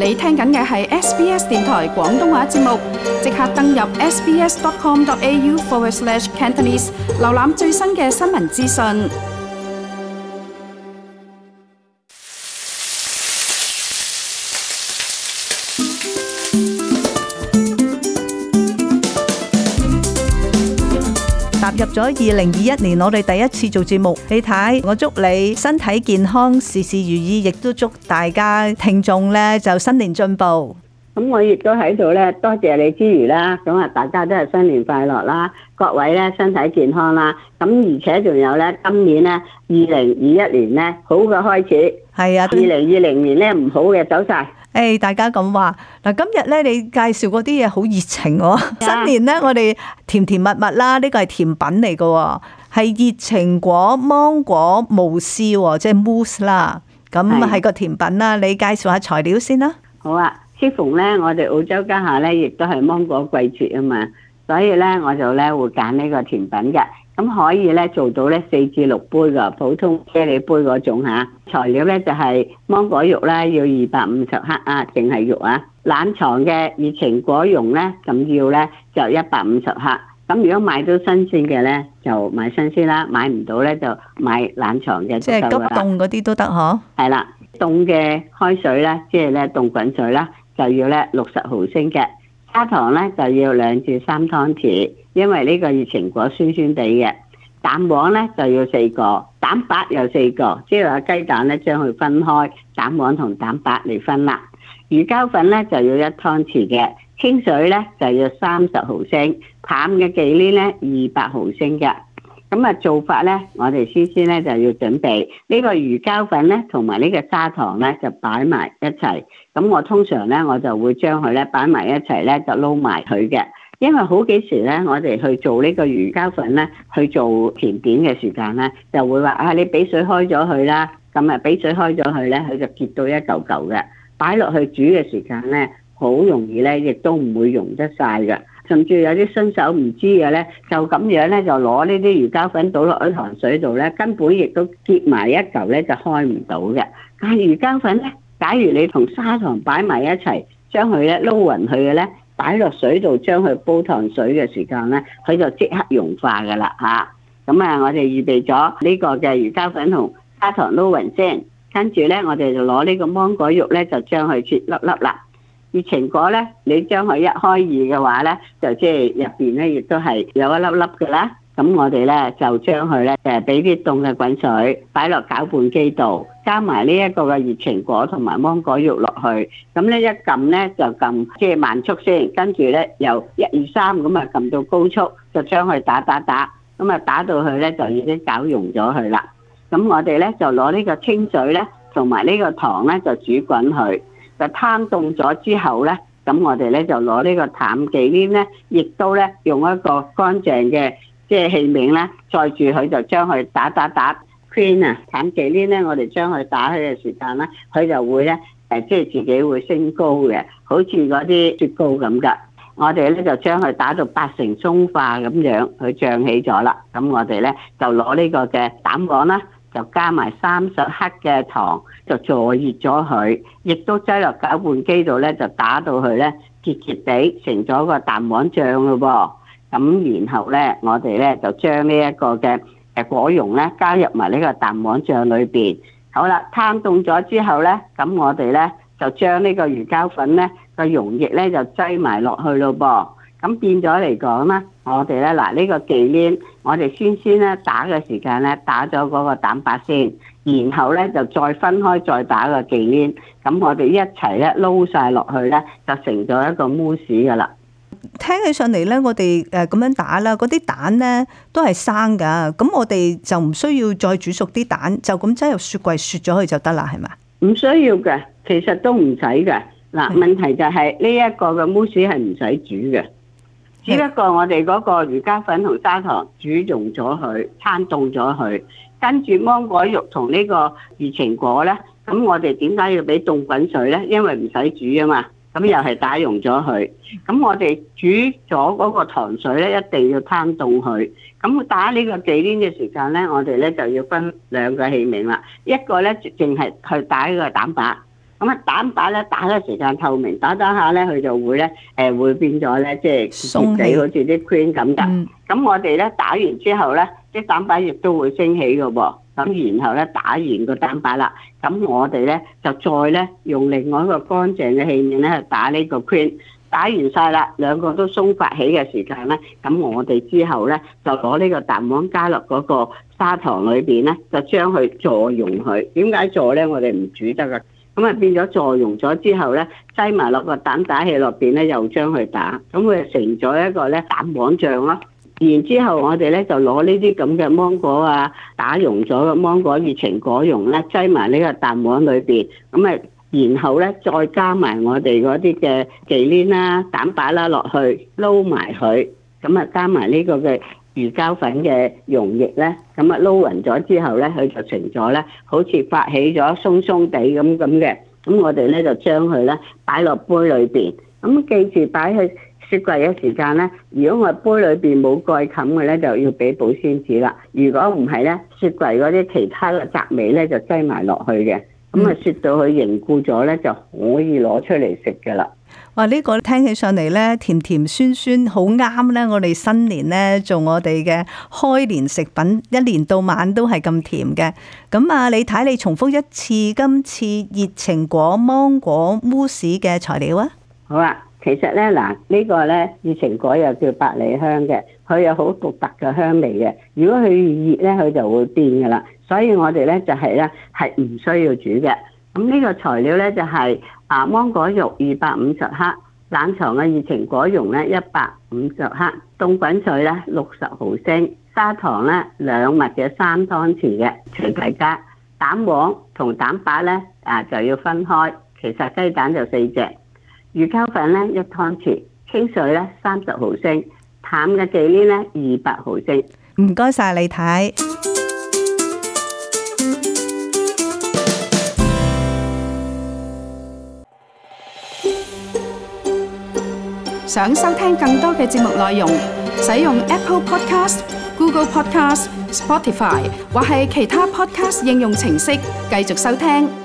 你聽緊嘅係 SBS 電台廣東話節目，即刻登入 sbs.com.au/cantonese 瀏覽最新嘅新聞資訊。 踏入咗2021年，我哋第一次做節目，你睇，我祝你身體健康，事事如意，亦都祝大家聽眾咧就新年進步。 咁我亦都喺度咧，多謝你之餘啦，咁啊大家都係新年快樂啦，各位咧身體健康啦，咁而且仲有咧今年咧2021年咧好嘅開始， 係啊 ，2020年咧唔好嘅走晒。 大家咁話嗱，今日咧你介紹嗰啲嘢好熱情喎。新年咧我哋甜甜蜜蜜啦，呢個係甜品嚟嘅，係熱情果芒果慕斯，即係 mousse 啦，咁係個甜品啦。你介紹下材料先啦。 好啊，適逢咧我哋澳洲家下咧亦都係芒果季節啊嘛，所以咧我就咧會揀呢個甜品嘅。咁可以咧做到咧4至6杯嘅普通啫喱杯嗰種嚇。材料咧就係芒果肉啦，要250克啊，淨係肉啊。冷藏嘅熱情果蓉咧，咁要咧就150克。咁如果買到新鮮嘅咧，就買新鮮啦；買唔到咧就買冷藏嘅。 即係急凍嗰啲都得嗬？ 係啦，凍嘅開水咧，即係咧凍滾水啦，就要咧60毫升嘅。砂糖咧就要2至3湯匙，因為呢個熱情果酸酸地嘅。蛋黃咧就要4個，蛋白有4個，即係話雞蛋咧將佢分開，蛋黃同蛋白嚟分啦。魚膠粉咧就要1湯匙嘅，清水咧就要30毫升，淡嘅忌廉咧200毫升嘅。咁啊做法咧，我哋先咧就要準備呢個魚膠粉咧，同埋呢個砂糖咧就擺埋一齊。咁我通常咧我就會將佢咧擺埋一齊咧就撈埋佢嘅。因為好幾時咧，我哋去做呢個魚膠粉咧，去做甜點嘅時間咧，就會話啊，你俾水開咗佢啦，咁啊俾水開咗佢咧，佢就結到一嚿嚿嘅，擺落去煮嘅時間咧，好容易咧，亦都唔會溶得晒嘅。甚至有啲新手唔知嘅咧，就咁樣咧就攞呢啲魚膠粉倒落喺糖水度咧，根本亦都結埋一嚿咧就開唔到嘅。但係魚膠粉咧，假如你同砂糖擺埋一齊，將佢咧撈勻佢嘅咧，擺落水度將佢煲糖水嘅時間咧，佢就即刻融化噶啦嚇。咁啊，我哋預備咗呢個嘅魚膠粉同砂糖撈勻先，跟住咧我哋就攞呢個芒果肉咧，就將佢切粒粒啦。熱情果咧，你將佢一開二嘅話咧，就即係入邊咧亦都係有一粒粒嘅啦。咁我哋咧就將佢咧俾啲凍嘅滾水擺落攪拌機度，加埋呢一個嘅熱情果同埋芒果肉落去。咁咧一撳咧就撳即係慢速先，跟住咧由1、2、3咁啊撳到高速，就將佢打。咁啊打到佢咧就已經攪溶咗佢啦。咁我哋咧就攞呢個清水咧同埋呢個糖咧就煮滾佢。就攤凍咗之後咧，咁我哋咧就攞呢個淡忌廉咧，亦都咧用一個乾淨嘅即係器皿咧，載住佢就將佢打 cream 啊，淡忌廉咧，我哋將佢打開嘅時間咧，佢就會咧即係自己會升高嘅，好似嗰啲雪糕咁噶。我哋咧就將佢打到80%鬆化咁樣，佢脹起咗啦。咁我哋咧就攞呢個嘅蛋黃啦。就加埋30克嘅糖，就助熱咗佢，亦都擠落攪拌機度咧，就打到佢咧結結地，成咗個蛋黃醬咯噃。咁然後咧，我哋咧就將呢一個嘅果蓉咧加入埋呢個蛋黃醬裏邊。好啦，攤凍咗之後咧，咁我哋咧就將呢個魚膠粉咧個溶液咧就擠埋落去咯噃。咁變咗嚟講咧，我哋咧嗱呢個忌廉，我哋先咧打嘅時間咧打咗嗰個蛋白先，然後咧就再分開再打個忌廉，咁我哋一齊咧撈晒落去咧，就成咗一個慕斯噶啦。 聽起上嚟咧，我哋咁樣打啦，嗰啲蛋咧都係生噶，咁我哋就唔需要再煮熟啲蛋，就咁擠入雪櫃雪咗佢就得啦，係咪？ 唔需要嘅，其實都唔使嘅。嗱，問題就係呢一個嘅慕斯係唔使煮嘅。只不過我哋嗰個魚膠粉同砂糖煮溶咗佢，攤凍咗佢，跟住芒果肉同呢個熱情果咧，咁我哋點解要俾凍滾水咧？因為唔使煮啊嘛，咁又係打溶咗佢。咁我哋煮咗嗰個糖水咧，一定要攤凍佢。咁打呢個忌廉嘅時間咧，我哋咧就要分2個器皿啦。一個咧淨係去打呢個蛋白， 咁啊蛋白咧打嘅時間透明，打下咧佢就會咧會變咗咧，即係鬆氣， 好似啲 cream 咁㗎。咁我哋咧打完之後咧，啲蛋白亦都會升起嘅喎。咁然後咧打完個蛋白啦，咁我哋咧就再咧用另外一個乾淨嘅器皿咧去打呢個 cream。打完晒啦，兩個都鬆發起嘅時間咧，咁我哋之後咧就攞呢個蛋黃加落嗰個砂糖裏邊咧，就將佢助溶佢。點解助咧？我哋唔煮得㗎。咁啊變咗助溶咗之後咧，擠埋落個蛋打器落邊咧，又將佢打，咁佢就成咗一個咧蛋黃醬咯。然之後我哋咧就攞呢啲咁嘅芒果啊，打溶咗嘅芒果熱情果蓉咧，擠埋呢個蛋黃裏邊，咁啊〜然後咧，再加埋我哋嗰啲嘅忌廉啦、蛋白啦落去撈埋佢，咁啊加埋呢個嘅魚膠粉嘅溶液咧，咁啊撈勻咗之後咧，佢就成咗咧，好似發起咗鬆鬆地咁嘅。咁我哋咧就將佢咧擺落杯裏邊。咁記住擺去雪櫃嘅時間咧，如果我杯裏邊冇蓋冚嘅咧，就要俾保鮮紙啦。如果唔係咧，雪櫃嗰啲其他嘅雜味咧就擠埋落去嘅。咁啊，雪到佢凝固咗咧，就可以攞出嚟食噶啦。 哇！呢個聽起上嚟咧，甜甜酸酸，好啱咧。我哋新年咧做我哋嘅開年食品，一年到晚都係咁甜嘅。咁啊，你睇你重複一次今次熱情果芒果慕斯嘅材料啊。 好啊，其實咧嗱，呢個咧熱情果又叫百里香嘅，佢有好獨特嘅香味嘅。如果佢越熱咧，佢就會變噶啦。所以我哋咧就係咧係唔需要煮嘅。咁呢個材料咧就係芒果肉250克，冷藏嘅熱情果蓉咧150克，凍滾水咧60毫升，砂糖咧2蜜嘅3湯匙嘅，隨大家。蛋黃同蛋白咧就要分開，其實雞蛋就4隻，魚膠粉咧1湯匙，清水咧30毫升，淡嘅忌廉咧200毫升。 唔該晒你睇。 想收聽更多嘅節目內容，使用 Apple Podcast、Google Podcast、Spotify 或係其他 Podcast 應用程式繼續收聽。